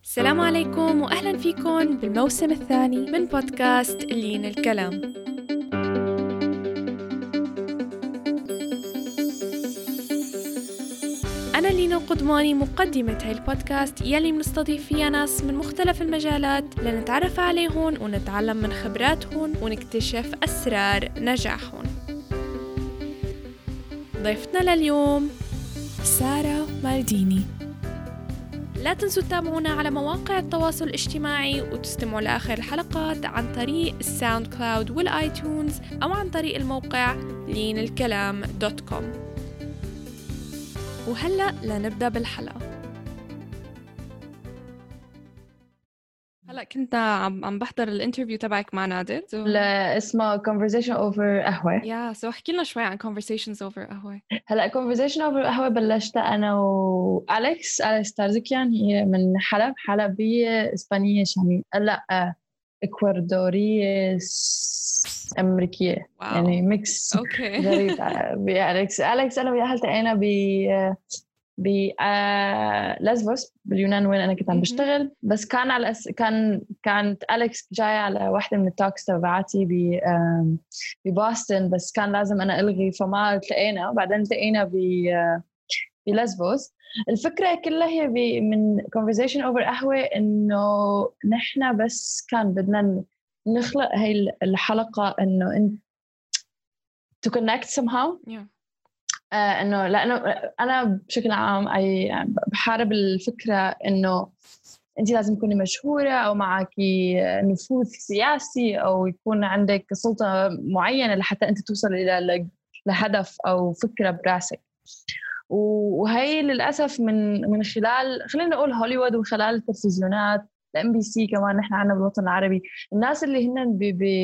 السلام عليكم وأهلا فيكم بالموسم الثاني من بودكاست لين الكلام. أنا لينا القدماني مقدمة هاي البودكاست يلي منستضيف فيها ناس من مختلف المجالات لنتعرف عليهم ونتعلم من خبراتهم ونكتشف أسرار نجاحهم. ضيفتنا لليوم سارة مالديني. لا تنسوا تتابعونا على مواقع التواصل الاجتماعي وتستمعوا لآخر الحلقات عن طريق الساوند كلاود والآيتونز أو عن طريق الموقع linelkalam.com. وهلأ لنبدأ بالحلقة. هلأ كنت عم بحضر الانترفيو تبعك مع نادر. لا اسمه conversation over قهوة. سو احكي لنا شوي عن conversations over قهوة. هلا conversation over قهوة بلشت أنا وأليكس تارزكيان. هي من حلبية إسبانية شامية، لا إكوادورية أمريكية. واو. يعني ميكس غريب. بأليكس أنا وياها التقينا لازفوس باليونان وين أنا كنت عم بشتغل، بس كان على كانت أليكس جاية على واحدة من التوكس تبعاتي ببوسطن، بس كان لازم أنا ألغي فما التقينا. وبعدين التقينا بلازفوس. الفكرة كلها هي من conversation over قهوة إنه نحنا بس كان بدنا نخلق هاي الحلقة إنه to connect somehow. إنه لأنه أنا بشكل عام بحارب الفكرة إنه أنت لازم تكوني مشهورة أو معك نفوذ سياسي أو يكون عندك سلطة معينة لحتى أنت توصل إلى لهدف أو فكرة براسك. وهي للأسف من خلال خلينا نقول هوليوود وخلال التلفزيونات الMBC كمان. نحن عنا بالوطن العربي الناس اللي هن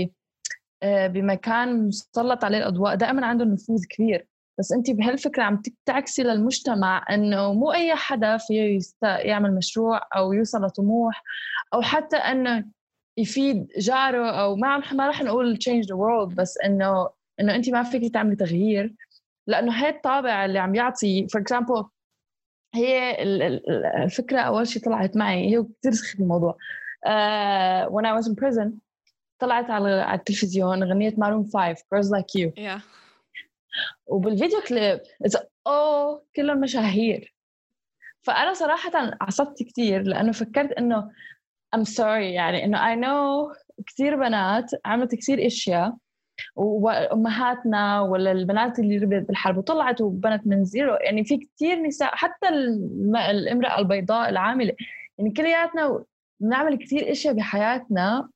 بمكان مسلط عليه الأضواء دائما عندهم نفوذ كبير، بس أنت بهالفكرة عم تعكسي للمجتمع إنه مو أي حدا فيه يعمل مشروع أو يوصل لطموح أو حتى إنه يفيد جاره أو ما رح نقول change the world، بس إنه أنت ما فيك تعملي تغيير. لأنه هاي الطابع اللي عم يعطي for example هي الفكرة أول شيء طلعت معي هي كتير سخيف الموضوع. when I was in prison طلعت على التلفزيون غنية Maroon 5 Girls Like You. وبالفيديو كليب كلهم مشاهير. فأنا صراحة عصبت كتير لأنه فكرت إنه I'm sorry، يعني إنه I know كتير بنات عملت كتير إشياء وأمهاتنا ولا البنات اللي ربت بالحرب وطلعت وبنت من زيرو. يعني في كتير نساء حتى الامرأة البيضاء العاملة، يعني كلياتنا بنعمل كتير إشياء بحياتنا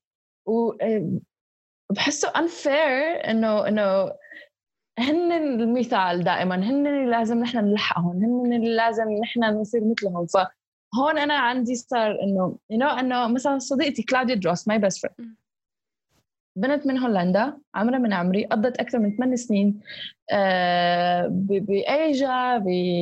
وبحسه unfair إنه هن المثال دائما، هن اللي لازم نحن نلحقهم، هن اللي لازم نحن نصير مثلهم. فهون أنا عندي صار إنه مثلا صديقتي كلاوديا دروس my best friend، بنت من هولندا عمرها من عمري، قضت أكثر من 8 سنين بأيجا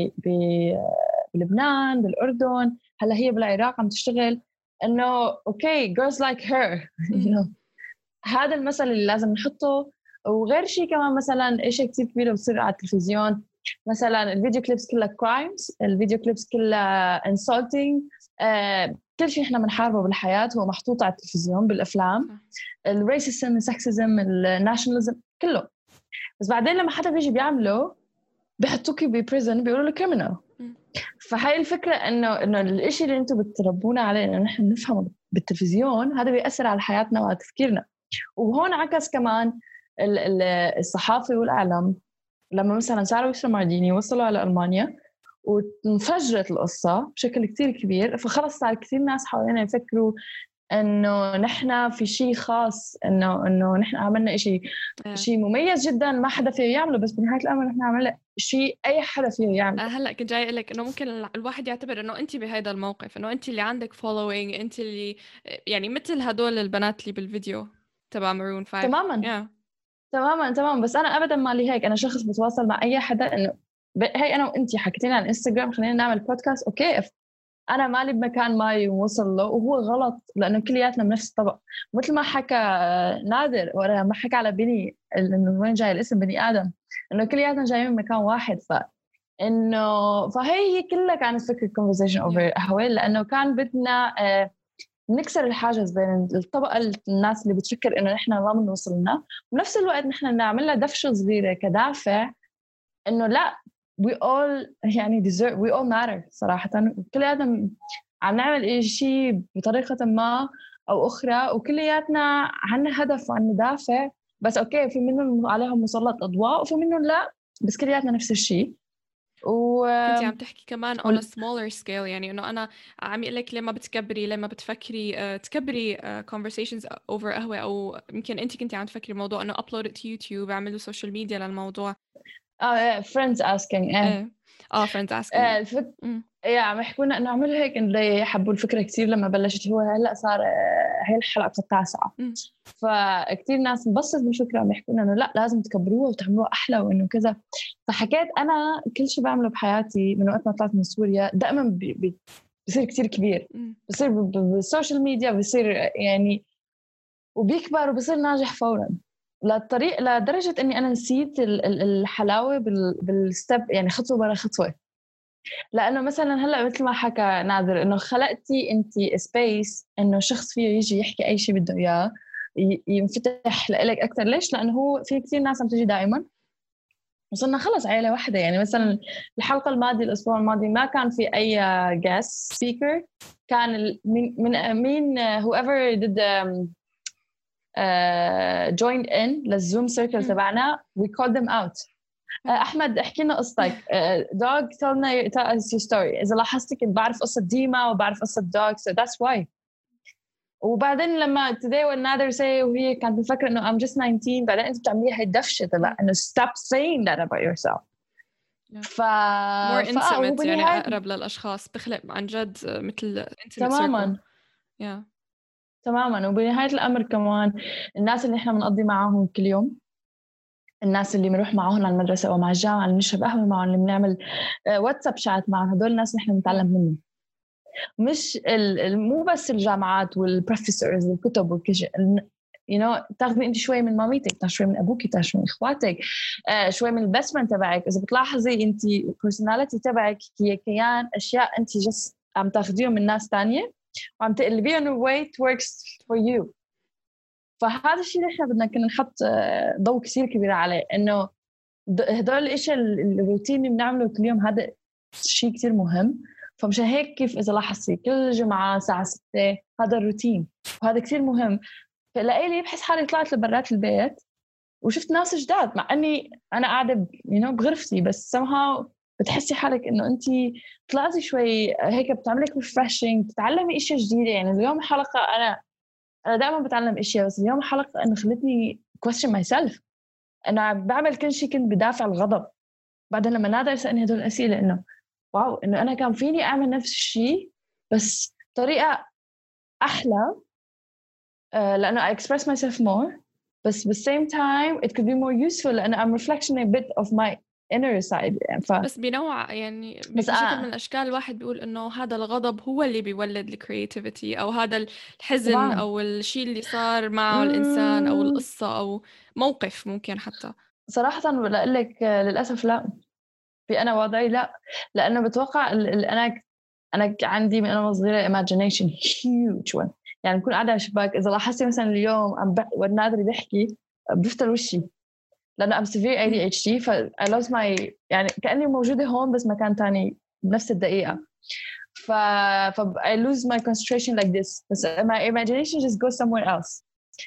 بلبنان بالأردن، هلا هي بالعراق عم تشتغل. إنه okay girls like her هذا المثل اللي لازم نحطه. وغير شيء كمان مثلا إشي كتير كبير بصير على التلفزيون، مثلا الفيديو كليبس كلها كرايمز، الفيديو كليبس كلها انسولتينج، كل شيء احنا بنحاربه بالحياة هو محطوط على التلفزيون بالأفلام. الريسيزم، السكسيزم، الناشناليزم كله. بس بعدين لما حدا بيجي بيعمله بيحطوكي ببريزن بيقولوا له كريمنال. فهاي الفكرة إنه الإشي اللي أنتم بتربونا عليه إنه نحن نفهمه بالتلفزيون هذا بيأثر على حياتنا وعلى تفكيرنا. وهون عكس كمان الصحافة والإعلام. لما مثلا سارة ويسرا مالديني وصلوا على ألمانيا وانفجرت القصة بشكل كتير كبير، فخلص صار كتير ناس حوالينا يفكروا إنه نحن في شيء خاص، إنه نحن عملنا شيء مميز جدا ما حدا فيه يعمله، بس بنهاية الأمر نحن عملنا شيء أي حدا فيه يعمله. هلأ كنت جاي أقولك إنه ممكن الواحد يعتبر إنه أنت بهذا الموقف، إنه أنت اللي عندك following، أنت اللي يعني مثل هدول البنات اللي بالفيديو تبع مارون 5. تماما. بس أنا أبدا ما لي هيك. أنا شخص بتواصل مع أي حدا إنه هي أنا وأنتي حكيتين عن إنستغرام خلينا نعمل بودكاست، أوكي أنا مالي بمكان ما يوصل له وهو غلط لأنه كلياتنا بنفس الطبق. مثل ما حكى نادر ولا ما حكى على بني إنه وين جاي الاسم بني آدم، إنه كلياتنا جايين من مكان واحد. إنه فهي كلها كانت فكرة conversation over قهوة، لأنه كان بدنا نكسر الحاجز بين الطبقة الناس اللي بتفكر إنه نحن ما بنوصلنا، وبنفس الوقت نحن نعملها دفشة صغيرة كدافع إنه لا we all يعني deserve we all matter صراحة، كلياتنا عم نعمل شيء بطريقة ما أو أخرى، وكلياتنا عنا هدف وعنا دافع، بس أوكي في منهم عليهم مسلط أضواء وفي منهم لا، بس كلياتنا نفس الشيء. كنتي عم تحكي كمان on a smaller scale، يعني إنه أنا عم يقول لك لما بتكبري لما بتفكري تكبري conversations over قهوة، أو يمكن أنت كنتي عم تفكري الموضوع إنه upload it to YouTube، اعملوا social media للموضوع. friends asking friends asking عم يحكونا انه عملوا هيك، انه حبوا الفكره كثير لما بلشت. هو هلا صار هي الحلقه 9 فكتير ناس انبسطت بالفكره، عم يحكونا انه لا لازم تكبروها وتعملوها احلى وانه كذا. فحكيت انا كل شيء بعمله بحياتي من وقت ما طلعت من سوريا دائما بصير كتير كبير، بصير بالسوشيال ميديا بصير يعني وبيكبر وبصير ناجح فورا، لدرجه اني انا نسيت الحلاوه بالستب، يعني خطوه ورا خطوه. لأنه مثلا هلأ مثل ما حكى نادر إنه خلقتي أنتي سبيس إنه شخص فيه يجي يحكي أي شيء بده إياه، ينفتح لإلك أكتر. ليش؟ لأنه هو في كتير ناس عم تجي دائما، وصلنا خلص عائلة واحدة. يعني مثلا الحلقة الماضية الأسبوع الماضي ما كان في أي guest speaker، كان مين whoever did joined in للزوم circle تبعنا we called them out. أحمد احكي لنا قصتك. dog tell us your story. إذا لاحظتي كنت بعرف قصة ديما وبعرف قصة dog so that's why. وبعدين لما today when Nader say وهي كانت بفكر إنه I'm just 19، بعدين أنت بتعمليها هاي الدفشة تبع إنه stop saying that about yourself. more intimate يعني أقرب للأشخاص، بخلق عن جد مثل intimate تماماً circle. تماماً. وبنهاية الأمر كمان الناس اللي إحنا بنقضي معاهم كل يوم، الناس اللي بنروح معهم على المدرسة أو مع الجامعة، اللي نشرب قهوة معهم، اللي بنعمل واتساب شات معهم، هدول الناس نحن بنتعلم منهم. مش مو بس الجامعات والبروفيسورز والكتب وكل شيء. تاخذي انت شوي من ماميتك، تاخذي شوي من ابوك، تاخذي شوي من اخواتك، شوي من البست فريند تبعك. اذا بتلاحظي انت البيرسوناليتي تبعك هي كيان اشياء انت جس عم تاخذيهم من ناس تانية وعم تقلبيهم way it works for you. فهذا الشيء اللي احنا بدنا كنا نحط ضوء كثير كبير عليه، انه هدول الاشياء الروتين اللي بنعمله كل يوم هذا شيء كثير مهم. فمشان هيك كيف اذا لاحظتي كل جمعه الساعه 6 هذا الروتين وهذا كثير مهم. فلاقي بحس حالي طلعت لبرات البيت وشفت ناس جداد، مع اني انا قاعده بغرفتي، بس somehow بتحسي حالك انه انت طلعتي شوي هيك بتعملك ريفرشنج، بتتعلمي اشياء جديده. يعني اليوم حلقه انا دائما بتعلم اشياء، بس اليوم حلقه انه خلتني question myself. انا بعمل كل شيء كنت بدافع الغضب، بعدين لما نادر سألني هدول الاسئله انه واو، انه انا كان فيني اعمل نفس الشيء بس طريقه احلى، لانه I express myself more، بس بالsame time it could be more useful لانه I'm reflection a bit of my inner side. يعني بس بنوع يعني بشكل من الاشكال الواحد بيقول انه هذا الغضب هو اللي بيولد الكرياتيفيتي، او هذا الحزن طبعاً. او الشيء اللي صار معه الانسان او القصه او موقف ممكن حتى. صراحه بقول لك للاسف لا، في انا وضعي لا، لانه بتوقع انا عندي من انا صغيره imagination huge one. يعني بكون قاعده على الشباك، اذا لاحظتي مثلا اليوم والنادر بيحكي بفتل وشي لانه I'm severe ADHD، ف I lose my يعني كاني موجوده هون بس مكان تاني بنفس الدقيقه. ف I lose my concentration like this، بس my imagination just goes somewhere else.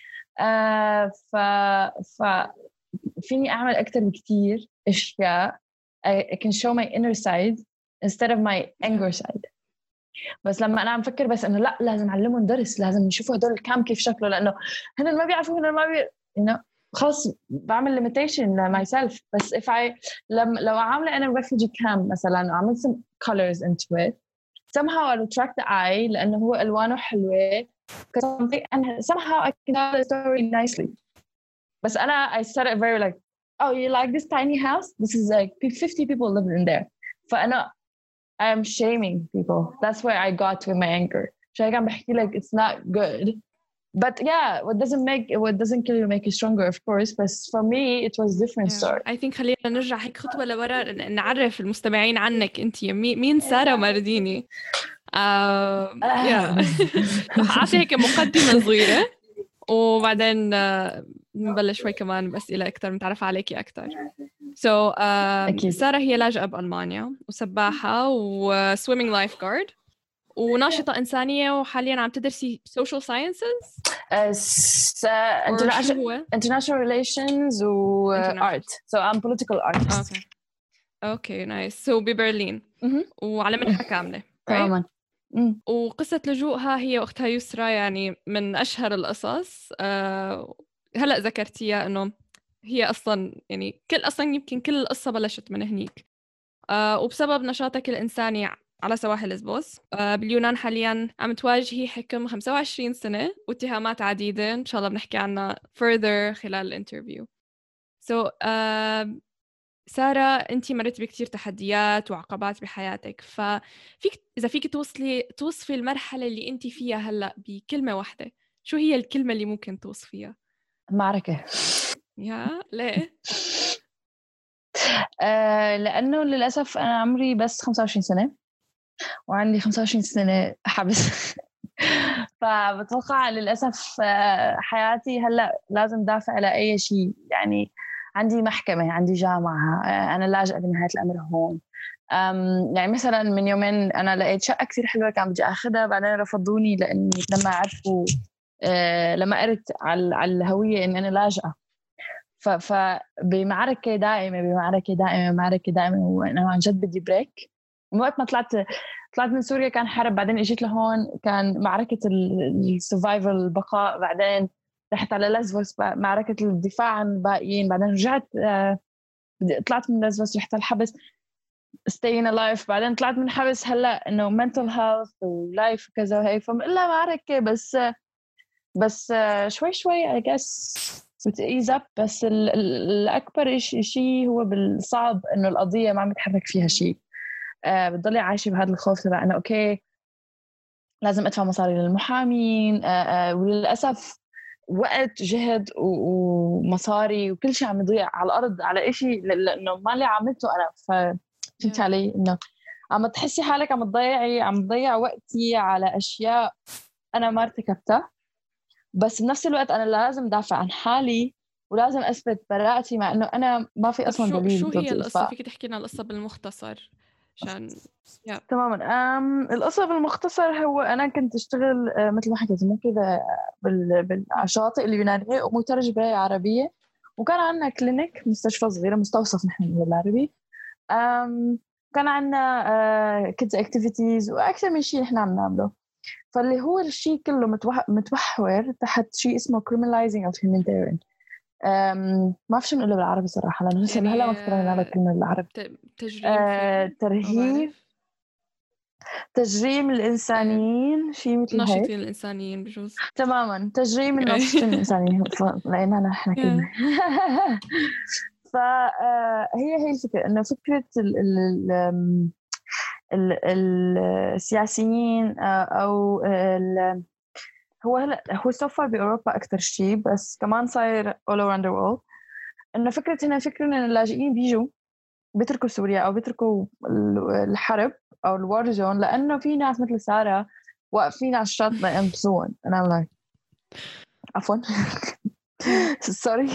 ف فيني اعمل اكثر بكثير اشياء I can show my inner side instead of my anger side. بس لما أنا عم فكر بس إنه لا لازم أعلمهم درس، لازم نشوفوا هدول الكام كيف شكله، لأنه هن ما بيعرفوا، هن ما خلاص بعمل limitation لmyself. بس if I لو عاملة أنا refugee camp مثلاً وعملت some colors into it somehow I'll attract the eye لأنه هو ألوانه حلوة and somehow I can tell the story nicely. بس أنا I said it very like, oh, you like this tiny house? This is like 50 people living in there. فأنا I'm shaming people. That's where I got with my anger. عشان كان بحكي لك it's not good but yeah, what doesn't kill you make you stronger, of course. But for me it was different story. I think خلينا نرجع هيك خطوة لورا نعرف المستمعين عنك انت مين سارة مارديني. رح أعطي هيك مقدمة صغيرة وبعدين نبلش شوي كمان بأسئلة أكتر نتعرف عليكي أكتر. سارة هي لاجئة بألمانيا وسباحة وسويمينج لايف جارد وناشطة إنسانية وحالياً عم تدرسي social sciences international relations و art. So I'm political artist. Okay, nice. So ببرلين وعلى منحة كاملة. تماماً. وقصة لجوءها هي أختها يسرى يعني من أشهر القصص. هلأ ذكرتيها إنه هي أصلاً يعني يمكن كل القصة بلشت من هنيك. وبسبب نشاطك الإنساني على سواحل ليسبوس باليونان حالياً عم تواجهي حكم 25 سنة واتهامات عديدة إن شاء الله بنحكي عنها further خلال الانترفيو. سارة أنتِ مريتِ بكتير تحديات وعقبات بحياتك، إذا فيك توصفي المرحلة اللي أنتِ فيها هلأ بكلمة واحدة، شو هي الكلمة اللي ممكن توصفيها؟ معركة. ليه؟ لأنه للأسف أنا عمري بس 25 سنة وعندي 25 سنة حبس. فبتوقع للأسف حياتي هلأ لازم دافع على أي شيء. يعني عندي محكمة، عندي جامعة، أنا لاجئة بنهاية الأمر هون. يعني مثلا من يومين أنا لقيت شقة كتير حلوة كان بدي أخذها، بعدين رفضوني لأني لما عرفوا لما قرت على الهوية إن أنا لاجئة. فبمعركة دائمة وأنا عن جد بدي بريك. من وقت ما طلعت من سوريا كان حرب، بعدين اجيت لهون كان معركة السرفايفل البقاء، بعدين رحت على ليسبوس معركة الدفاع عن الباقيين، بعدين رجعت طلعت من ليسبوس رحت الحبس staying alive، بعدين طلعت من حبس هلا انه mental health ولايف وكذا وهي. فإلا معركة بس شوي I guess بتقيز up. بس الأكبر شيء هو بالصعب إنه القضية ما عم يتحرك فيها شيء. بتضلي عايشة بهذا الخوف تبع إنه أوكي لازم أدفع مصاري للمحامين، وللأسف وقت جهد ومصاري وكل شيء عم يضيع على الأرض على إشي لأنه ما اللي عملته أنا. فهمت علي إنه عم تحسي حالك عم تضيع وقتي على أشياء أنا ما ارتكبتها، بس بنفس الوقت أنا لازم دافع عن حالي ولازم أثبت براءتي مع إنه أنا ما في أصلاً دليل. شو هي القصة؟ فيك تحكي لنا القصة بالمختصر عشان تماماً. القصة بالمختصر هو أنا كنت أشتغل مثل ما حكيت مو كذا بالشاطئ اليونانية ومترجمة عربية، وكان عنا كلينيك مستشفى صغيرة مستوصف نحن بالعربي. كان عنا kids activities وأكثر من شيء نحن عم نعمله. فاللي هو الشيء كله متوحور تحت شيء اسمه criminalizing of humanitarian. ما أعرف شو بنقوله بالعربي صراحة لأنه يعني هلا ما افتكرنا على كلمة بالعربي. تجريم الإنسانيين شيء مثل هيك. ناشطين الإنسانيين بجوز. تماماً تجريم الناشطين الإنسانيين لقينا نحن كلمة. فهي الفكرة إنه فكرة السياسيين أو هو سوفر بأوروبا أكتر شيء، بس كمان صاير all around the world. إنه فكرة إن اللاجئين بيتركوا سوريا أو بيتركوا الحرب أو الوار زون لأنه في ناس مثل سارة واقفين على الشط ينقذون. أنا عفوا sorry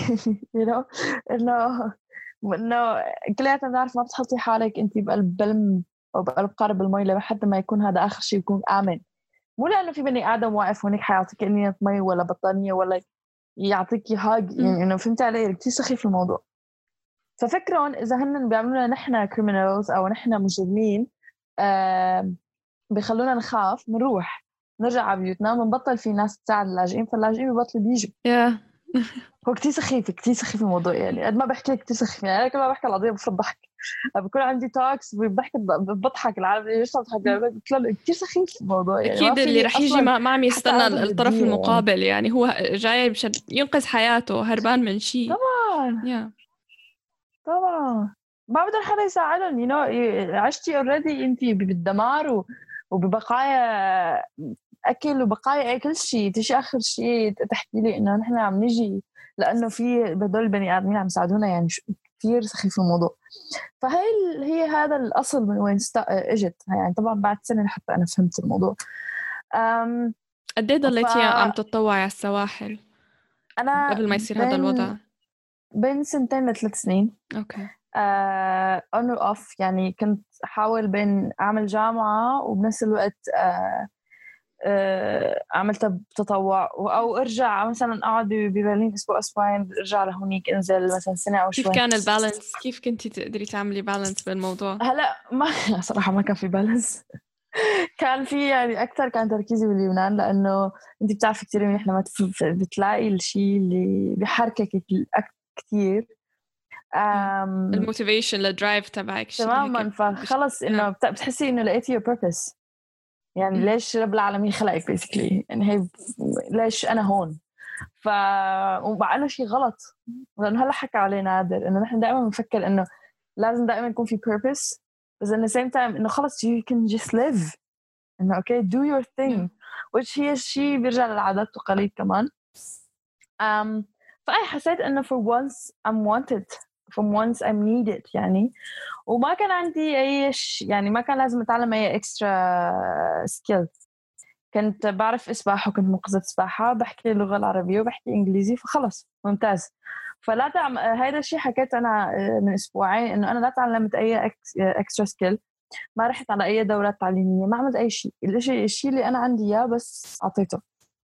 إنه كلياتنا بنعرف ما بتحطي حالك أنت بقلب بلم أو بقلب قارب المي لحد ما يكون هذا آخر شيء يكون آمن. مو لأنه في بني آدم واقف هونيك حيعطيك إنية مي ولا بطانية ولا يعطيك هاج. يعني إنه فهمت علي كتير سخيف الموضوع. ففكرون إذا هن بيعملونا نحن criminals أو نحن مجرمين بيخلونا نخاف منروح نرجع على بيوتنا ونبطل في ناس تساعد اللاجئين، فاللاجئين بيبطلوا بيجوا. هو كتير سخيف الموضوع. يعني قد ما بحكي لك كتير سخيف. يعني أنا كل ما بحكي القضية بفرض ضحك، بكون عندي توكس بضحك العالم ليش بضحك كتير سخيف الموضوع. يعني أكيد اللي رح يجي ما عم يستنى الطرف المقابل. يعني هو جاي مشان ينقذ حياته هربان من شيء. طبعا ما بدهم حدا يساعدهم. عشتي already انتي بالدمار وببقايا اكل وبقايا كل شيء، تيجي اخر شيء تحكي لي انه نحن عم نجي لانه في هدول البني ادمين عم يساعدونا، يعني كثير سخيف الموضوع. هي هذا الاصل من وين اجت، يعني طبعا بعد سنه لحتى انا فهمت الموضوع. قد ايه ضليتي عم تتطوعي على السواحل انا قبل ما يصير هذا الوضع؟ بين 2 ل3 سنين. اوكي. on or off، يعني كنت أحاول بين أعمل جامعة وبنفس الوقت عملت تطوع، أو أرجع مثلا أقعد ببرلين أسبوع أسبوعين، أرجع لهونيك أنزل مثلا سنة أو شوي. كيف كان البالانس؟ كيف كنتي تقدري تعملي بالانس بالموضوع؟ هلا ما صراحة ما كان في بالانس. كان في يعني أكثر كان تركيزي باليونان، لأنه أنت بتعرفي كتير منيح لما بتلاقي الشيء اللي بيحركك كتير، الموتيفيشن الدرايف تبعك تماما. فخلص انه بتحسي انه لقيتي your purpose، يعني ليش رب العالمين خلقك basically، يعني هي ليش انا هون. ومع شيء غلط، لانه هلا حكى عليه نادر انه نحن دائما بنفكر انه لازم دائما يكون في purpose، بس in the same time انه خلص you can just live، انه okay do your thing، which هي الشيء بيرجع للعادات والتقاليد كمان. فأي حسيت إنه for once I'm wanted، from once I'm needed يعني. وما كان عندي يعني ما كان لازم أتعلم أي extra skill. كنت بعرف أسبح وكنت منقذة سباحة، بحكي اللغة العربية وبحكي إنجليزي، فخلص ممتاز. فلا هذا الشيء حكيت أنا من أسبوعين، إنه أنا لا تعلمت أي extra skill، ما رحت على أي دورات تعليمية، ما عملت أي شيء. الشيء اللي أنا عندي إياه بس أعطيته.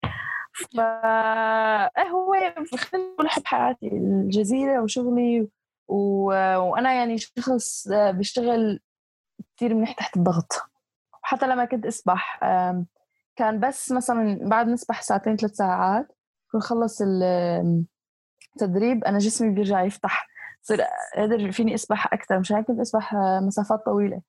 هو خلينا نقول حب حياتي الجزيرة وشغلي وأنا يعني شخص بيشتغل كتير منيح تحت الضغط. حتى لما كنت أسبح كان بس مثلا بعد نسبح 2-3 ساعات كنت خلص التدريب أنا جسمي بيرجع يفتح، صير قادر فيني أسبح أكثر، مش هيك كنت أسبح مسافات طويلة.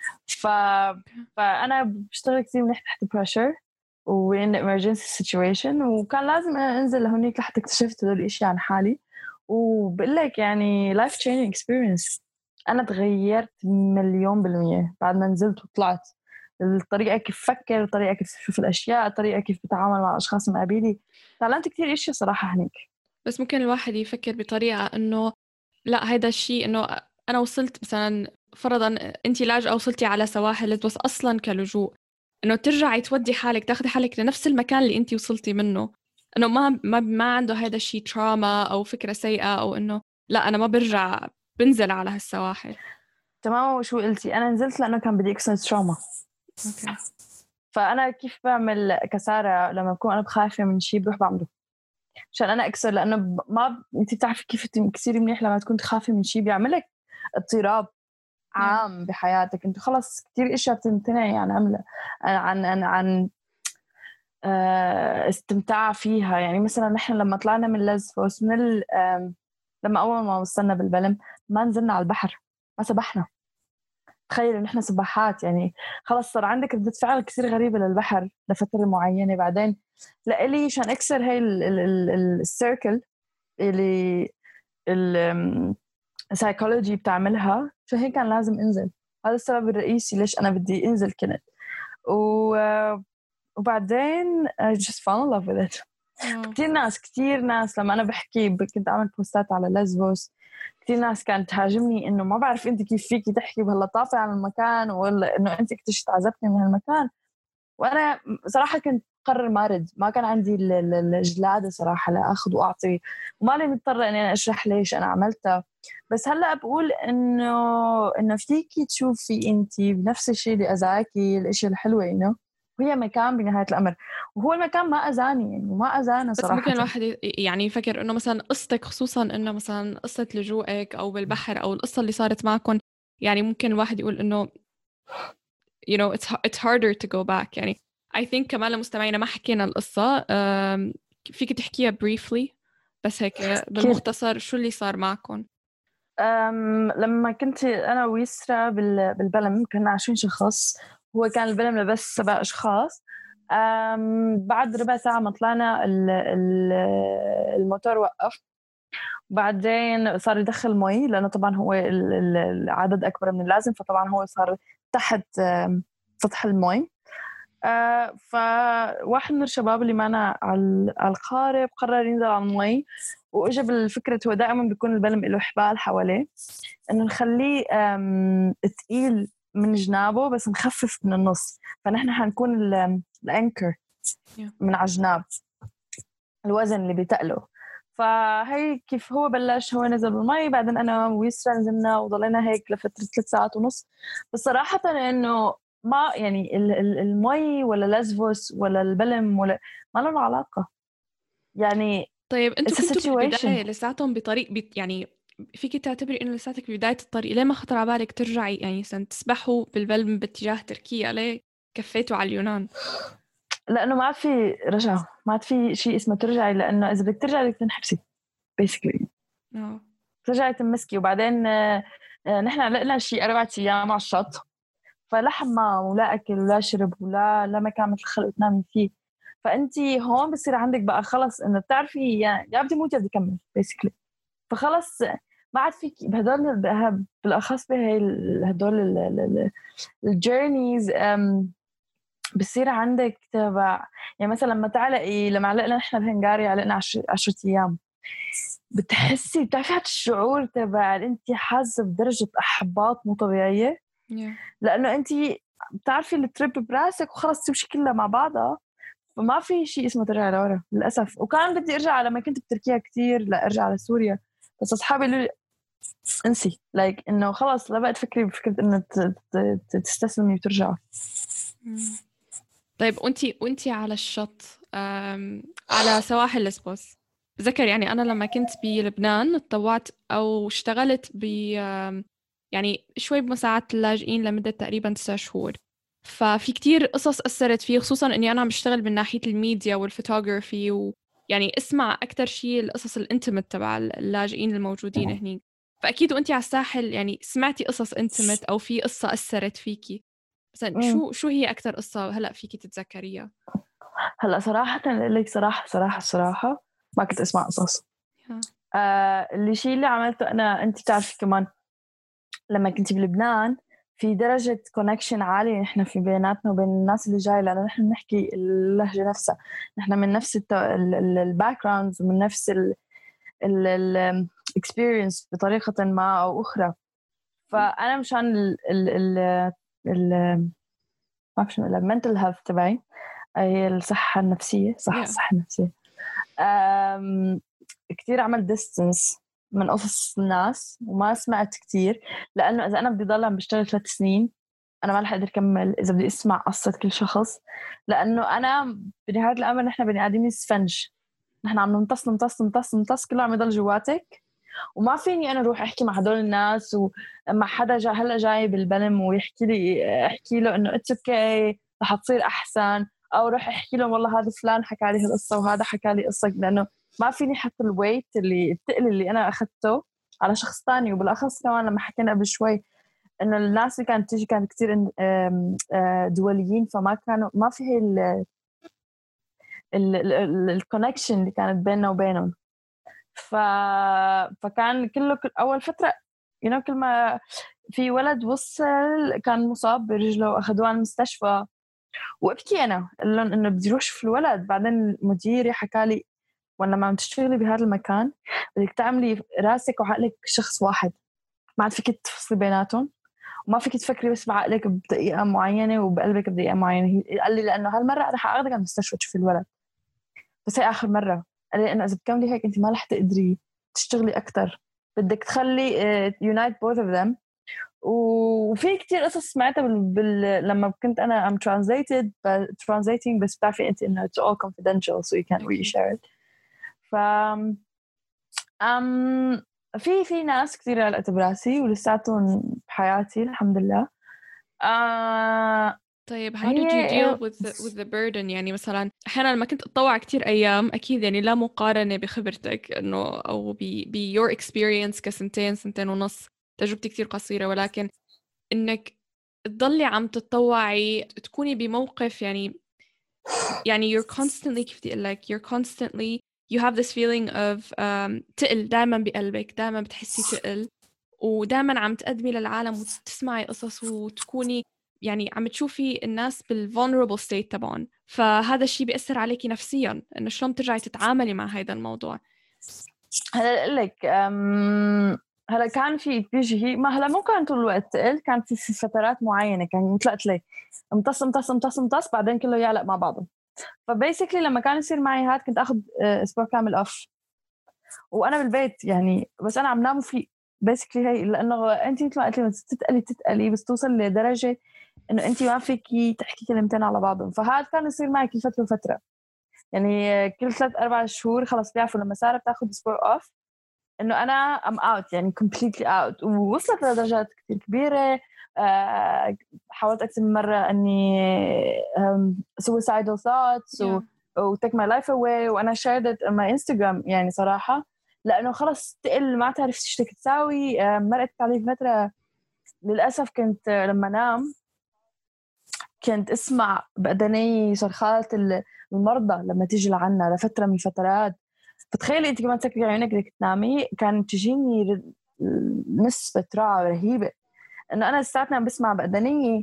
فأنا بشتغل كتير منيح تحت pressure وين emergency situation، وكان لازم أنا أنزل لهونيك لحتى اكتشفت هدول الأشياء عن حالي. وبقول لك يعني life changing experience، أنا تغيرت 1,000,000% بعد ما نزلت وطلعت. الطريقة كيف فكر، الطريقة كيف شوف الأشياء، الطريقة كيف بتعامل مع أشخاص مقابلي، تعلمت كتير أشياء صراحة هنيك. بس ممكن الواحد يفكر بطريقة إنه لا، هيدا الشيء إنه أنا وصلت مثلا فرضا أنت لاجئة وصلتي على سواحل بس أصلا كلجوء، إنه ترجعي تودي حالك تاخدي حالك لنفس المكان اللي أنت وصلتي منه، إنه ما عنده هيدا الشيء تراما أو فكرة سيئة، أو إنه لا أنا ما برجع بنزل على هالسواحل. تمام. وشو قلتي؟ أنا نزلت لأنه كان بدي أكسر تراما. أوكي. فأنا كيف بعمل كسارة لما بكون أنا بخايفة من شيء بروح بعمله عشان أنا أكسر، لأنه ما أنت بتعرفي كيف تكسري منيح لما تكون تخافي من شيء بيعملك اضطراب عام بحياتك. أنت خلاص كتير إشياء بتمتنعي عن عمله عن استمتاع فيها. يعني مثلا نحن لما طلعنا من لزفوس لما أول ما وصلنا بالبلم ما نزلنا على البحر، ما سبحنا. تخيل إن إحنا سباحات، يعني خلاص صار عندك ردة فعل كثير غريبة للبحر لفترة معينة. بعدين لإلي عشان أكسر هاي السيركل اللي السايكولوجي بتعملها، فهيك كان لازم أنزل. هذا السبب الرئيسي ليش أنا بدي أنزل كنت. وبعدين I just fell in love with it. كتير ناس لما أنا بحكي كنت أعمل بوستات على لزبوس، كتير ناس كانت تهاجمني إنه ما بعرف أنت كيف فيكي تحكي بهاللطافة عن المكان، ولا إنه أنت اكتشفت عزبتني من هالمكان. وأنا صراحة كنت قرر مارد، ما كان عندي الجلادة صراحة لأخذ وأعطي، وما لي مضطرة إني أنا أشرح ليش أنا عملتها. بس هلأ بقول إنه فيكي تشوفي أنت بنفس الشيء اللي أذاكي، الأشياء الحلوة إنه وهي مكان بنهاية الأمر، وهو المكان ما أذاني يعني ما أذانا صراحة. بس ممكن الواحد يعني يفكر إنه مثلا قصتك، خصوصا إنه مثلا قصة لجوءك أو بالبحر أو القصة اللي صارت معكم، يعني ممكن الواحد يقول إنه you know it's harder to go back. يعني I think كمان لمستمعينا ما حكينا القصة، فيك تحكيها briefly بس هيك بالمختصر شو اللي صار معكم؟ لما كنت أنا ويسرا بالبلم كنا 20 شخص، هو كان البلم لبس 7 أشخاص. بعد ربع ساعة ما طلعنا الموتور وقف، بعدين صار يدخل مي لأنه طبعا هو العدد أكبر من اللازم، فطبعا هو صار تحت سطح المي. فواحد من الشباب اللي معنا على القارب قرر ينزل على المي، واجى بالفكرة هو دائما بيكون البلم له حبال حواليه، انه نخليه تقيل من جنابه بس نخفف من النص، فنحن حنكون الانكر من على جناب الوزن اللي بيتقله. فهي كيف هو بلش، هو نزل بالمي، بعدين انا ويسرا نزلنا وضلينا هيك لفترة 3 ساعات ونص. بس صراحة انه ما يعني المي ولا لزفوس ولا البلم ولا ما لهم علاقة يعني. طيب انتوا it's a كنتوا situation. بالبداية لساتهم بطريق يعني فيك تعتبري انه لساتك ببداية الطريق، ليه ما خطر على بالك ترجعي يعني تسبحوا بالبلم باتجاه تركيا؟ ليه كفيتوا على اليونان؟ لانه ما عاد في رجعة، ما عاد في شيء اسمه ترجعي، لانه اذا بدك ترجعي بدك تنحبسي basically، ترجعي تمسكي. وبعدين نحن علقنا شيء 4 أيام على الشط، فلا حمام ولا اكل ولا شرب ولا مكان مثل الخلق تنامي فيه. فانتي هون بصير عندك بقى خلص انه بتعرفي يا بدي موت يا بدي كمل basically. فخلص ما عاد فيك بهدول بالاخص بهي هدول الجيرنيز بصير عندك تبع. يعني مثلا لما علقنا نحن بهنغاريا علقنا 10 ايام، بتحسي بتعرفي هذا الشعور تبع انت حاسه بدرجه احباط مو طبيعيه، لانه انت بتعرفي التريب براسك وخلص تمشي كلها مع بعضها، فما في شيء اسمه ترجع لورا للاسف. وكان بدي ارجع لما كنت بتركيا كتير، لا ارجع على سوريا، بس اصحابي قالوا لي انسي انه خلص لا بقى تفكري بفكره انه تستسلمي وترجعي. طيب وانتي على الشط على سواحل لسبوس، بذكر يعني أنا لما كنت بلبنان اتطوعت أو اشتغلت يعني شوي بمساعدة اللاجئين لمدة تقريبا 9 شهور. ففي كتير قصص أثرت فيه، خصوصا إني أنا عم بشتغل من ناحية الميديا والفوتوغرافي، ويعني اسمع أكتر شيء القصص الانتمت تبع اللاجئين الموجودين هنيك. فأكيد وانتي على الساحل يعني سمعتي قصص انتمت أو في قصة أثرت فيكي مثلا. شو هي أكتر قصة هلأ فيكي تتذكريها؟ هلا صراحة أقول لك صراحة ما كنت أسمع قصص. الشيء اللي عملته أنا، أنت بتعرفي كمان لما كنت بلبنان في درجة كونكشن عالية نحن في بيناتنا وبين الناس اللي جاي، لأنه نحن نحكي اللهجة نفسها، نحن من نفس الباك جراوندز ومن نفس الاكسبيرينس بطريقة ما أو أخرى. فأنا مشان ال ما بعرف شو المنتل هيلث تبعي، هي الصحة النفسية، الصحة النفسية، كتير عمل ديستنس من قصص الناس وما سمعت كتير، لأنه إذا أنا بدي ضل عم بشتغل 3 سنين أنا ما رح أقدر أكمل إذا بدي أسمع قصة كل شخص، لأنه أنا بنهاية الأمر نحن بني آدمين سفنج، نحن عم نمتص كله عم يضل جواتك، وما فيني أنا أروح أحكي مع هدول الناس ومع حدا هلا جاي بالبلم ويحكي لي أحكي له إنه اتس اوكي رح تصير أحسن، أو رح أحكي لهم والله هذا فلان حكى لي هالقصة وهذا حكى لي قصة، لأنه ما فيني حط الويت الثقل اللي أنا أخذته على شخص تاني. وبالأخص كمان لما حكينا قبل شوي إنه الناس اللي كانت تيجي كانت كتير دوليين، فما كانوا ما في هي الكونكشن اللي كانت بيننا وبينهم. فكان كله أول فترة كل ما في ولد وصل كان مصاب برجله وأخذوه على المستشفى، وابكي أنا قال لهم إنه بدي أروح في الولد. بعدين مديري حكى لي وأنا ما عم تشتغلي بهذا المكان بدك تعملي راسك وعقلك شخص واحد، ما عاد فيك تفصلي بيناتهم، وما فيك تفكري بس بعقلك بدقيقة معينة وبقلبك بدقيقة معينة. قال لي لأنه هالمرة رح أخذك على المستشفى تشوفي الولد، بس هي آخر مرة. قال لي إنه إذا بتكملي هيك أنت ما رح تقدري تشتغلي أكتر، بدك تخلي unite both of them. وفي كتير قصص سمعتها لما كنت أنا translating بس بتعرفي أنت إنه it's all confidential so you can't really share it. ف في ناس كتير علقت براسي ولساتهم بحياتي الحمد لله. طيب how did you deal with the burden؟ يعني مثلا أحيانا لما كنت أتطوع كتير أيام، أكيد يعني لا مقارنة بخبرتك إنه أو your experience سنتين ونص، تجربتي كتير قصيرة، ولكن إنك تضلي عم تتطوعي تكوني بموقف يعني you're constantly كيف بدي أقول لك you're constantly you have this feeling of تقل دائما بقلبك، دائما بتحسي تقل، ودائما عم تقدمي للعالم وتسمعي قصص وتكوني يعني عم تشوفي الناس بالvulnerable state تبعهم، فهذا الشيء بيأثر عليكي نفسيا، إنه شلون بترجعي تتعاملي مع هذا الموضوع. هلا اقول لك هلا كان في تيجي ما هلا مو كان طول الوقت تقل، كان في فترات معينه كان مثل قلت لك امتص بعدين كله يعلق مع بعضه. فبيسكلي لما كان يصير معي هاد كنت اخذ اسبوع كامل اوف وانا بالبيت يعني، بس انا عم نام فيه بيسكلي هي، لانه انت مثل ما قلتي بس تتقلي بس توصل لدرجه انه انت ما فيكي تحكي كلمتين على بعضهم. فهذا كان يصير معي كل فتره وفتره، يعني كل 3-4 شهور خلص بيعرفوا لما ساره بتاخذ اسبوع اوف انه انا ام اوت، يعني completely اوت. ووصلت لدرجات كثير كبيره. حاولت اكثر من مره اني suicidal thoughts و take my life away، وانا shared it on my Instagram يعني صراحه، لانه خلص تقل ما تعرف ايش بدك تساوي. مرقت علي فتره للاسف كنت لما نام كنت اسمع بأذني صرخات المرضى لما تيجي لعنا لفتره من الفترات. فتخيلي انت كمان تسكري عيونك بدك تنامي، كان تجيني نسبة رعب رهيبة انه انا لساتني عم بسمع بأذنية.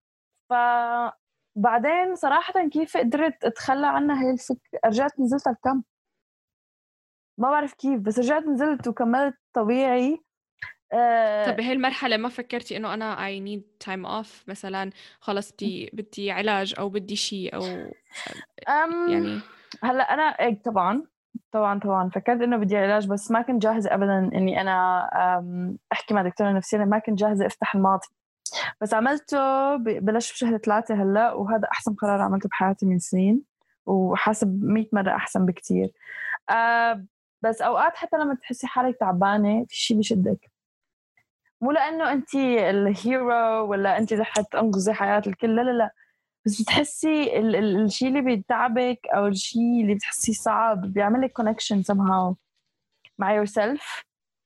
فبعدين صراحة كيف قدرت اتخلى عنها هي الفكرة، رجعت نزلت على الكامب، ما بعرف كيف بس رجعت نزلت وكملت طبيعي. طب بهي المرحلة ما فكرتي إنه أنا I need time off مثلا، خلص بدي علاج أو بدي شيء أو يعني؟ هلا أنا طبعا فكرت إنه بدي علاج، بس ما كنت جاهزة أبدا إني أنا أحكي مع دكتورة نفسية، ما كنت جاهزة أفتح الماضي. بس عملته بلش بشهر 3 هلا، وهذا أحسن قرار عملته بحياتي من سنين، وحاسب 100 مرة أحسن بكتير. بس أوقات حتى لما تحسي حالك تعبانة في شيء بشدك، مو لأنه أنت الهيرو ولا أنت رح تنقذي حياة الكل، لا، بس بتحسي الشيء اللي بيتعبك أو الشيء اللي بتحسيه صعب بيعملك connection somehow مع yourself،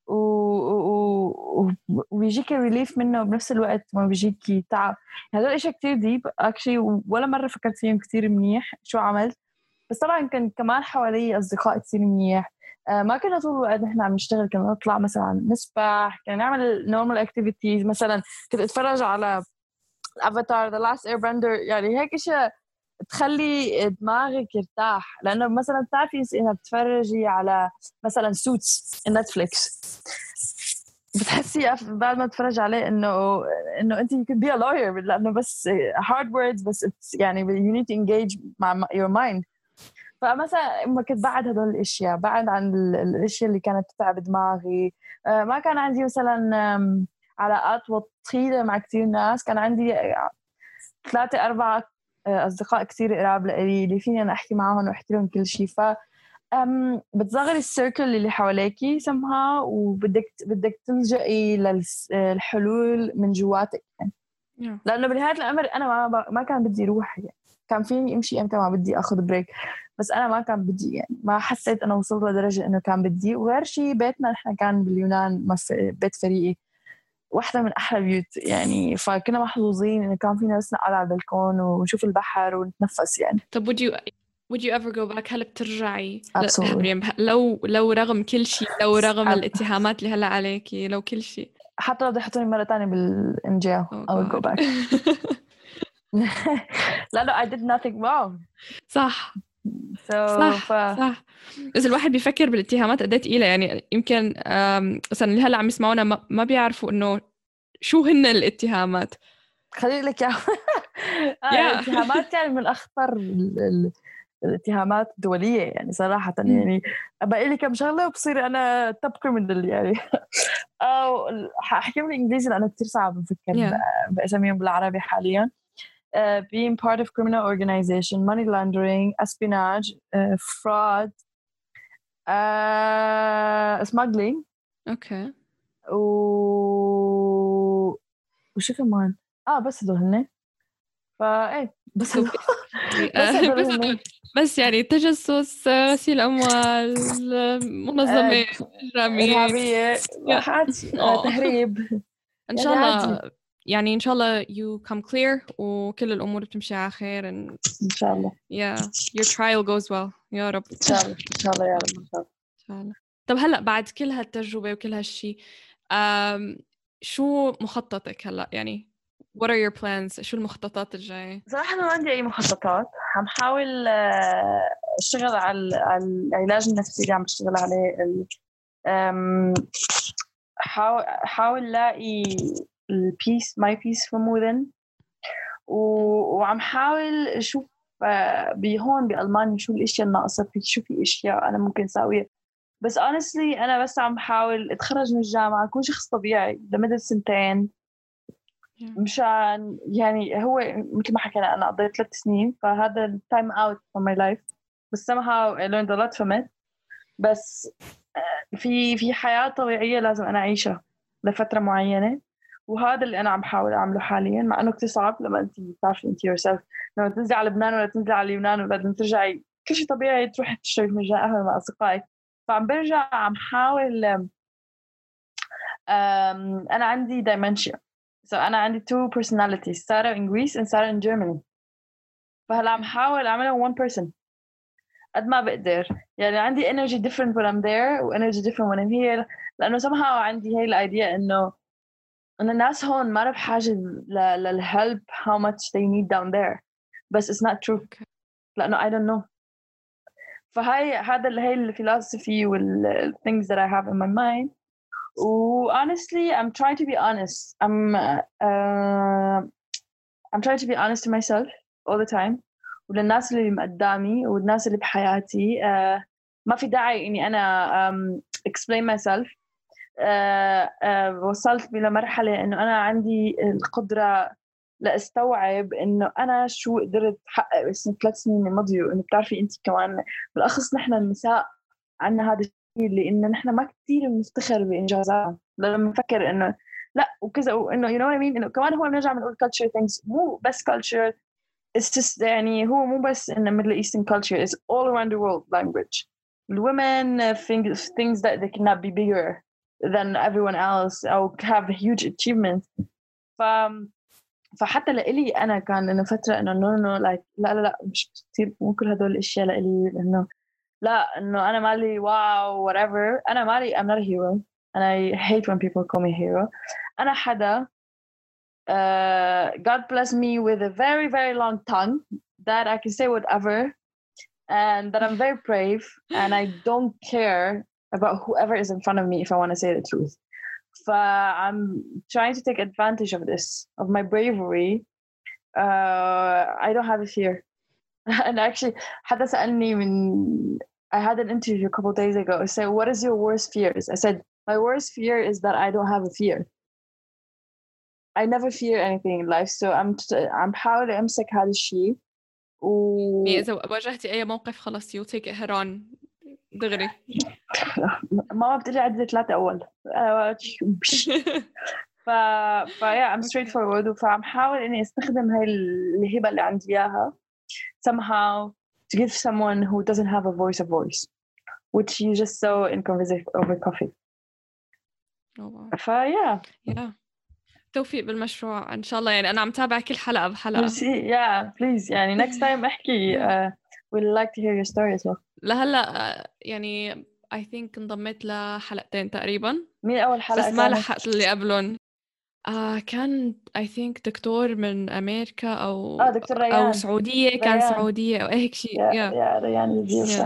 وبيجيك ريليف منه بنفس الوقت ما بيجيك تعب. هذا الاشي كتير ديب actually، ولا مرة فكرت فيهم كتير منيح شو عملت. بس طبعا كان كمان حوالي أصدقاء كتير منيح. ما كنا طول الوقت نحن عم نشتغل، كنا نطلع مثلا نسبح، كنا نعمل normal activities. مثلا كنت اتفرج على Avatar The Last Airbender، يعني هيك اشياء تخلي دماغك يرتاح. لأنه مثلا بتعرفي إنها بتفرجي على مثلا سوتس نتفليكس، بتحسي بعد ما تفرج عليه إنه أنت you could be a lawyer، لأنه بس hard words، بس يعني you need to engage مع your mind. فمثلا ما كنت بعد هدول الاشياء، بعد عن الاشياء اللي كانت تتعب دماغي. ما كان عندي مثلا علاقات وطيدة مع كتير ناس، كان عندي 3-4 اصدقاء كتير قراب لي اللي فيني انا احكي معهم واحكي لهم كل شيء. ف بتصغري السيركل اللي حواليكي سمها، وبدك تلجئي للحلول من جواتك يعني. لانه بنهايه الامر انا ما كان بدي اروح، يعني كان فيني امشي امتى ما بدي اخذ بريك، بس انا ما كان بدي، يعني ما حسيت انا وصلت لدرجه انه كان بدي. وغير شيء بيتنا نحن كان باليونان بيت فريقي، واحدة من أحلى بيوت يعني، فكنا محظوظين إنه كان فينا بس نقعد على البلكون ونشوف البحر ونتنفس يعني. طب would you ever go back؟ هل بترجعي؟ Absolutely. لو رغم كل شيء، لو رغم الاتهامات اللي هلا عليكي، لو كل شيء، حتى لو بدي يحطوني مرة تانية بالإنجيل I would go back. لا I did nothing wrong. صح. صح. بس الواحد بيفكر بالاتهامات قد ايه ثقيله، يعني يمكن مثلا اللي هلا عم يسمعونا ما بيعرفوا انه شو هن الاتهامات. خليني لك الاتهامات يعني من اخطر الاتهامات الدوليه يعني صراحه. يعني بقى لي كم شغله وبصير انا توب كريمنال يعني. او حاحكي بالانجليزي لانه كثير صعب نفكر باساميهم بالعربي حاليا. being part of criminal organization, money laundering, espionage, fraud, smuggling. اوكي. وشو كمان؟ بس هدول هن. فايه بس بس يعني تجسس، غسيل اموال، منظمه إرهابية، تهريب. ان شاء الله يعني ان شاء الله you come clear وكل الامور بتمشي على خير ان شاء الله. your trial goes well يا رب. ان شاء الله يا رب ان شاء الله. طب هلا بعد كل هالتجربه وكل هالشيء، شو مخططك هلا؟ يعني what are your plans؟ شو المخططات الجاية؟ صراحة ما عندي أي مخططات. عم حاول أشتغل على العلاج النفسي اللي عم بشتغل عليه. حاول لاقي البيس my peace from within. وعم حاول أشوف بهون بألمانيا شو الأشياء الناقصة في، شو في أشياء أنا ممكن أسويها. بس honestly أنا بس عم حاول أتخرج من الجامعة أكون شخص طبيعي لمدة 2 سنين مشان يعني هو مثل ما حكينا أنا قضيت 3 سنين فهذا time out from my life. بس somehow I learned a lot from it. بس في حياة طبيعية لازم أنا أعيشها لفترة معينة، وهذا اللي أنا عم بحاول أعمله حاليا. مع إنه كتير صعب لما أنت بتعرفي أنت yourself لما تنزلي على لبنان ولا تنزلي على اليونان ولا ترجعي كل شيء طبيعي تروحي تشتري فنجان قهوة مع أصدقائك. فعم برجع عم حاول أنا عندي dementia. so أنا عندي 2 personalities سارة in Greece and سارة in Germany. فهلا عم حاول أعملها one person قد ما بقدر. يعني عندي energy different when I'm there و energy different when I'm here. لأنه somehow عندي هاي الأيديا إنه الناس هون ما بحاجة للhelp how much they need down there. بس it's not true لأنه I don't know. فهاي هاي الفلسفي وال things that I have in my mind. honestly I'm trying to be honest. I'm trying to be honest to myself all the time وللناس اللي قدامي والناس اللي بحياتي. ما في داعي إني أنا explain myself. وصلت إلى مرحلة إنه أنا عندي القدرة لأستوعب إنه أنا شو قدرت أحقق بس 3 سنين الماضية. إنه بتعرفي أنت كمان بالأخص نحن النساء عنا هذا الشيء اللي إنه نحن ما كتير بنفتخر بإنجازاتنا لما نفكر إنه لا وكذا وإنه you know what I mean. إنه كمان هو بنرجع بنقول culture things مو بس culture. It's just يعني هو مو بس in the Middle Eastern culture. It's all around the world language. The women think things that they cannot be bigger than everyone else أو have huge achievements. فحتى لإلي أنا كان إنه فترة إنه no like لا مش كتير مو كل هدول الأشياء لإلي إنه لا إنه أنا مالي واو whatever. أنا مالي I'm not a hero and I hate when people call me hero. أنا حدا God bless me with a very very long tongue that I can say whatever and that I'm very brave and I don't care about whoever is in front of me if I want to say the truth. I'm trying to take advantage of this, of my bravery. I don't have a fear. And actually حدا سألني I had an interview a couple of days ago. I said, what is your worst fears? I said, my worst fear is that I don't have a fear. I never fear anything in life. So I'm بحاول أمسك هذا الشيء. إذا واجهتي أي موقف خلاص you take it head on دغري. ماما بتقولي عدد 3 أول. yeah I'm straightforward. فعم حاول إني أستخدم هاي الهبة اللي عندي إياها somehow to give someone who doesn't have a voice which you just saw in conversation over coffee. yeah توفيق بالمشروع إن شاء الله. يعني أنا عم تابع كل حلقة بحلقة. yeah please يعني next time احكي we'd like to hear your story as well. لهلا يعني I think انضميت لحلقتين تقريبا. مين أول حلقة بس ما لحقت اللي قبلهم. كان I think دكتور من أمريكا أو دكتور ريان أو سعودية كان سعودية أو هيك شيء. ريان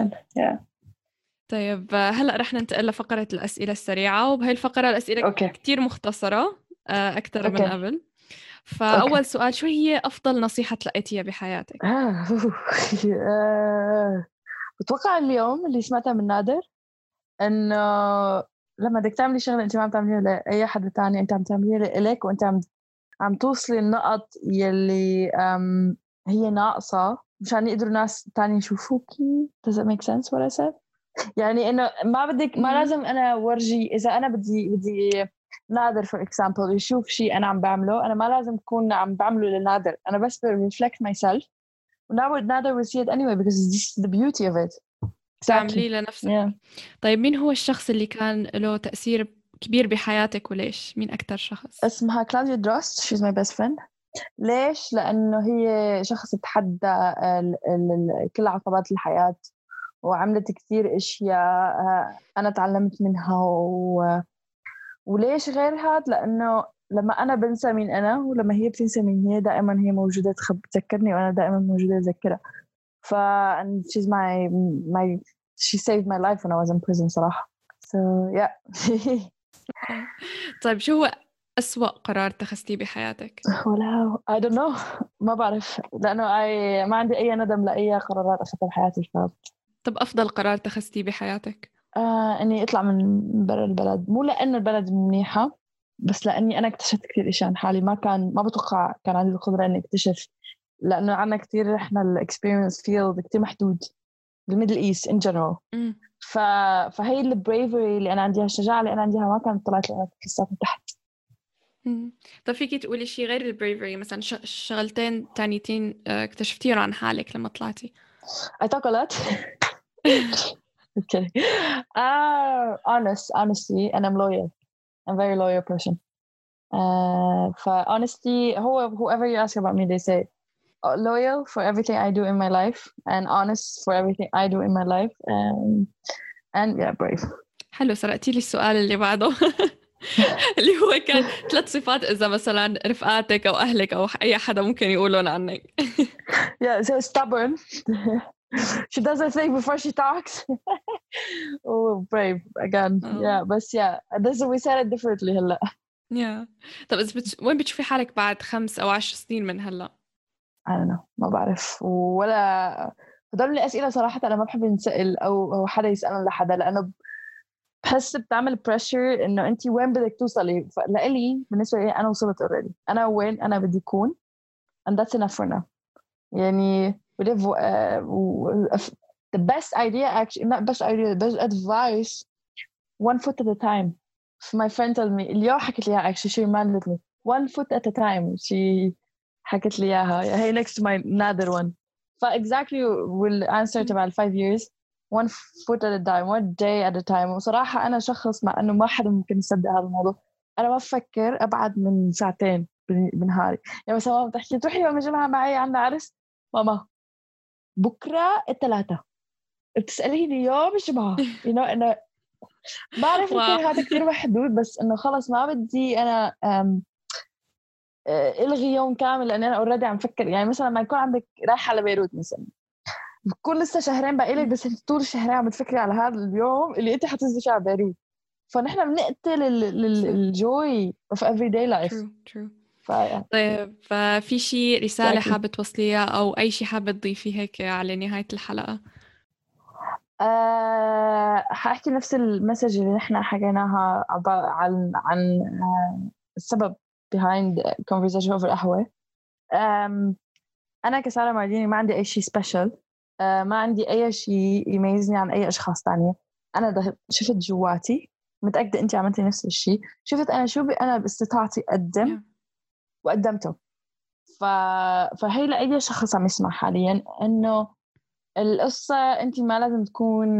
طيب هلأ رح ننتقل لفقرة الأسئلة السريعة. وبهاي الفقرة الأسئلة كتير مختصرة أكتر من قبل. فأول سؤال شو هي أفضل نصيحة تلقيتيها بحياتك؟ بتوقع اليوم اللي سمعتها من نادر إنه لما بدك تعملي شغلة أنت ما عم تعمليها لأي حد تاني أنت عم تعمليها لإلك وأنت عم توصلي النقط يلي هي ناقصة مشان يقدروا ناس تاني يشوفوكي. Does it make sense what I said؟ يعني إنه ما لازم أنا ورجي. إذا أنا بدي نادر for example يشوف شيء أنا عم بعمله أنا ما لازم أكون عم بعمله لنادر. أنا بس reflect myself ونادر will see it anyway because this is the beauty of it. تعملي لنفسك. طيب مين هو الشخص اللي كان له تأثير كبير بحياتك وليش؟ مين أكتر شخص؟ اسمها كلاوديا دراست. she's my best friend. ليش؟ لأنه هي شخص تحدى كل عقبات الحياة وعملت كثير أشياء أنا تعلمت منها وليش غير هاد؟ لأنه لما أنا بنسى مين أنا ولما هي بتنسى مين هي دائما هي موجودة تذكرني وأنا دائما موجودة أذكرها. and she's my she saved my life when I was in prison صراحة. so yeah. طيب شو هو أسوأ قرار اتخذتيه بحياتك؟ ولا I don't know ما بعرف لأنه ما عندي أي ندم لأي قرارات أخذتها بحياتي. طب أفضل قرار اتخذتيه بحياتك؟ إني أطلع من برا البلد، مو لأنه البلد منيحة بس لأني أنا اكتشفت كثير إشياء عن حالي ما بتوقع كان عندي القدرة إني أكتشف، لأنه عنا كثير إحنا الإكسبيرينس فيلد كثير محدود بالميدل إيست إن جنرال. فهي البريفري اللي أنا عنديها، الشجاعة اللي أنا عنديها ما كانت طلعت لي لسه من تحت. طب فيكي تقولي شيء غير البريفري مثلا شغلتين تانيتين اكتشفتيهم عن حالك لما طلعتي؟ I talk a lot. Okay. Honestly, and I'm loyal. I'm a very loyal person. Honestly, whoever you ask about me, they say loyal for everything I do in my life and honest for everything I do in my life. And yeah, brave. حلو، سرقتي لي السؤال اللي بعده. اللي هو كان 3 صفات إذا مثلا رفقاتك أو أهلك أو أي حدا ممكن يقولون عنك. Yeah, so stubborn. She doesn't think before she talks. Oh, brave again. Yeah, but yeah, we said it differently هلا. Yeah. طب وين بتشوفي حالك بعد 5 أو 10 سنين من هلا؟ I don't know، ما بعرف ولا هدول الأسئلة صراحة أنا ما بحب نسأل أو حدا يسألنا لحدا، لأنه بحس بتعمل pressure إنه أنتي وين بدك توصلي. لإلي بالنسبة لي أنا وصلت already، أنا وين أنا بدي أكون and that's enough for now. يعني we live the best idea, actually not best idea, the best advice, one foot at a time. My friend told me اليوم حكت لي actually she reminded me one foot at a time. She حكت لي إياها. Hey, next to my another one. Exactly will answer about 5 years. One foot at a time, one day at a time. وصراحة أنا شخص مع إنه ما حدا ممكن يصدق هذا الموضوع. أنا ما بفكر أبعد من ساعتين بنهاري. يعني مثلا ماما بتحكي تروحي يوم الجمعة معي عندنا عرس، ماما بكرة 3 بتسأليني يوم الجمعة. أنا بعرف يمكن هذا كتير محدود، بس إنه خلص ما بدي أنا إلغي يوم كامل، لأن أنا أوريدي عم فكر. يعني مثلا ما يكون عندك رايحة على بيروت مثلا، بكون لسه شهرين باقي بس انت طول الشهرين عم تفكري على هذا اليوم اللي انت حتنزلي على بيروت. فنحن بنقتل الجوي of everyday life. True. طيب في شيء رسالة حابة توصليها أو أي شيء حابة تضيفيه هيك على نهاية الحلقة؟ حاحكي نفس المسج اللي نحن حكيناها عن السبب behind conversation over قهوة. أنا كسارة مارديني ما عندي أي شيء special، ما عندي أي شيء يميزني عن أي أشخاص تانية. أنا شفت جواتي، متأكدة أنت عملتي نفس الشيء، شفت أنا شو أنا باستطاعتي أقدم وقدمته. فهي لأي شخص عم يسمع حاليا إنه القصة أنت ما لازم تكون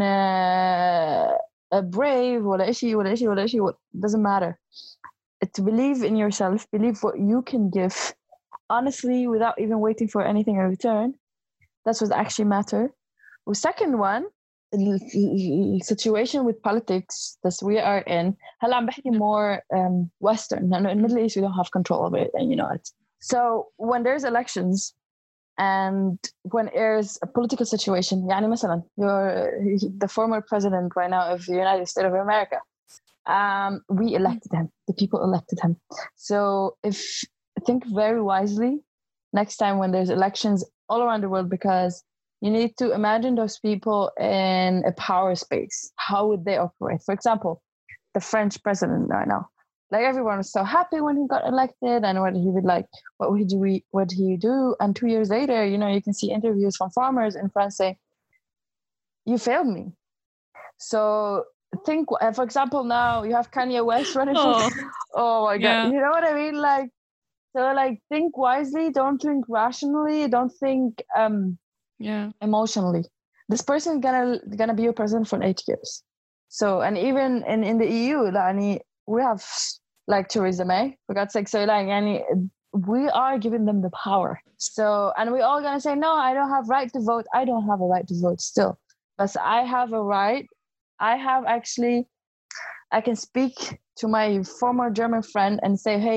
brave ولا إشي doesn't matter. To believe in yourself, believe what you can give honestly without even waiting for anything in return. That's what actually matter. The second one, the situation with politics that we are in, هلا عم بحكي more Western. In the Middle East we don't have control of it, and you know it. So when there's elections and when there's a political situation, يعني مثلا you're the former president right now of the United States of America. We elected him. The people elected him. So think very wisely next time when there's elections all around the world, because you need to imagine those people in a power space. How would they operate? For example, the French president right now. Like everyone was so happy when he got elected, and what he would like, what would he do? And 2 years later, you can see interviews from farmers in France saying, "You failed me." So think, for example, now you have Kanye West running for. Oh my God, you know what I mean? So think wisely, don't think rationally, don't think emotionally. This person gonna be your president for 8 years. So, and even in the EU, we have like Theresa May, for God's sake. So we are giving them the power. So, and we all gonna say, no, I don't have right to vote. I don't have a right to vote still, but I have a right. I can speak to my former German friend and say, hey,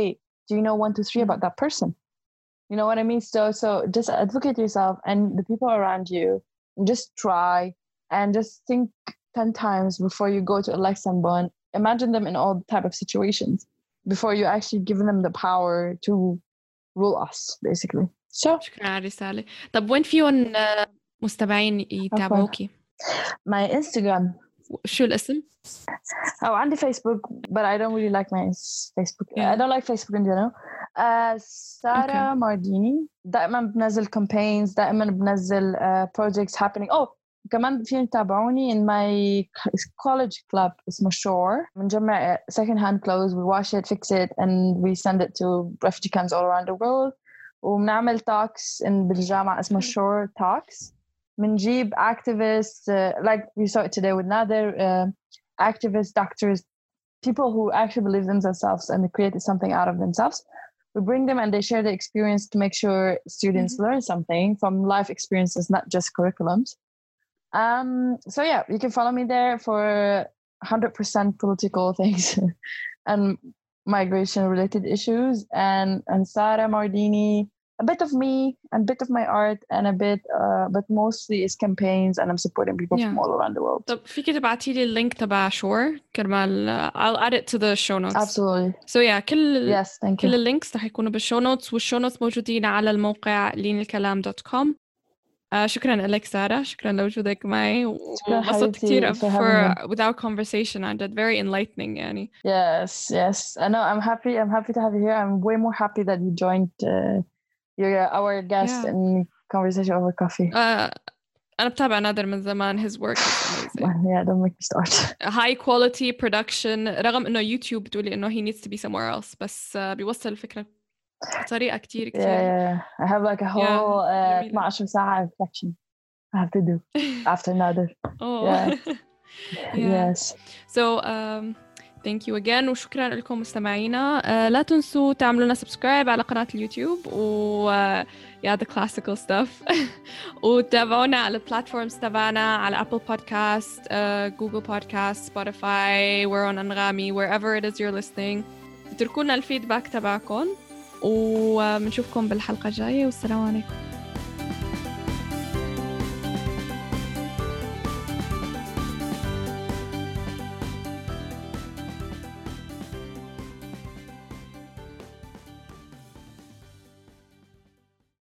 do you know 1, 2, 3 about that person? You know what I mean? So just advocate yourself and the people around you, and just try and just think 10 times before you go to elect someone. Imagine them in all type of situations before you actually give them the power to rule us, basically. So شكرا على الرسالة. طب وين فيهم مستمعين يتابعوكي؟ My Instagram. شو الاسم؟ عندي Facebook, but I don't really like my Facebook. Yeah. I don't like Facebook in general. سارة مارديني. دائما بنزل campaigns, دائما بنزل projects happening. كمان فيهم تابعوني in my college club اسمه Shore. بنجمع second hand clothes, we wash it, fix it, and we send it to refugee camps all around the world. وبنعمل talks بالجامعة اسمه Shore Talks. بنجيب activists, like we saw it today with Nader, activists, doctors, people who actually believe in themselves and they created something out of themselves. We bring them and they share the experience to make sure students learn something from life experiences, not just curriculums. So yeah, you can follow me there for 100% political things and migration related issues, and Sarah Mardini, a bit of me and a bit of my art and a bit but mostly is campaigns, and I'm supporting people from all around the world. طب فيك تبعتي لي اللينك تبع Shore كرمال I'll add it to the show notes. Absolutely. So yeah, كل thank كل you. اللينكس رح يكونوا بالشو نوتس، والشو نوتس موجودين على الموقع linilkalam.com. شكرا لك سارة، شكرا لوجودك معي، وانبسطت كثير with our conversation. I did very enlightening يعني. Yes. I know. I'm happy to have you here. I'm way more happy that you joined you're our guest in conversation over coffee. أنا بتابع نادر من زمان. His work is amazing. Yeah, don't make me start. High quality production، رغم إنه يوتيوب بتقولي إنه he needs to be somewhere else، بس بيوصل الفكرة بطريقة كتير. Yeah. I have like a whole 12 ساعة reflection I have to do after Nader. Yes. So thank you again، وشكرا لكم مستمعينا. لا تنسوا تعملوا لنا سبسكرايب على قناة اليوتيوب the classical stuff. وتابعونا على البلاتفورمز تبعنا على Apple Podcast, Google Podcast, Spotify, we're on Anghami, wherever it is you're listening. تتركونا الفيدباك تبعكم، وبنشوفكم بالحلقة الجاية، والسلام عليكم.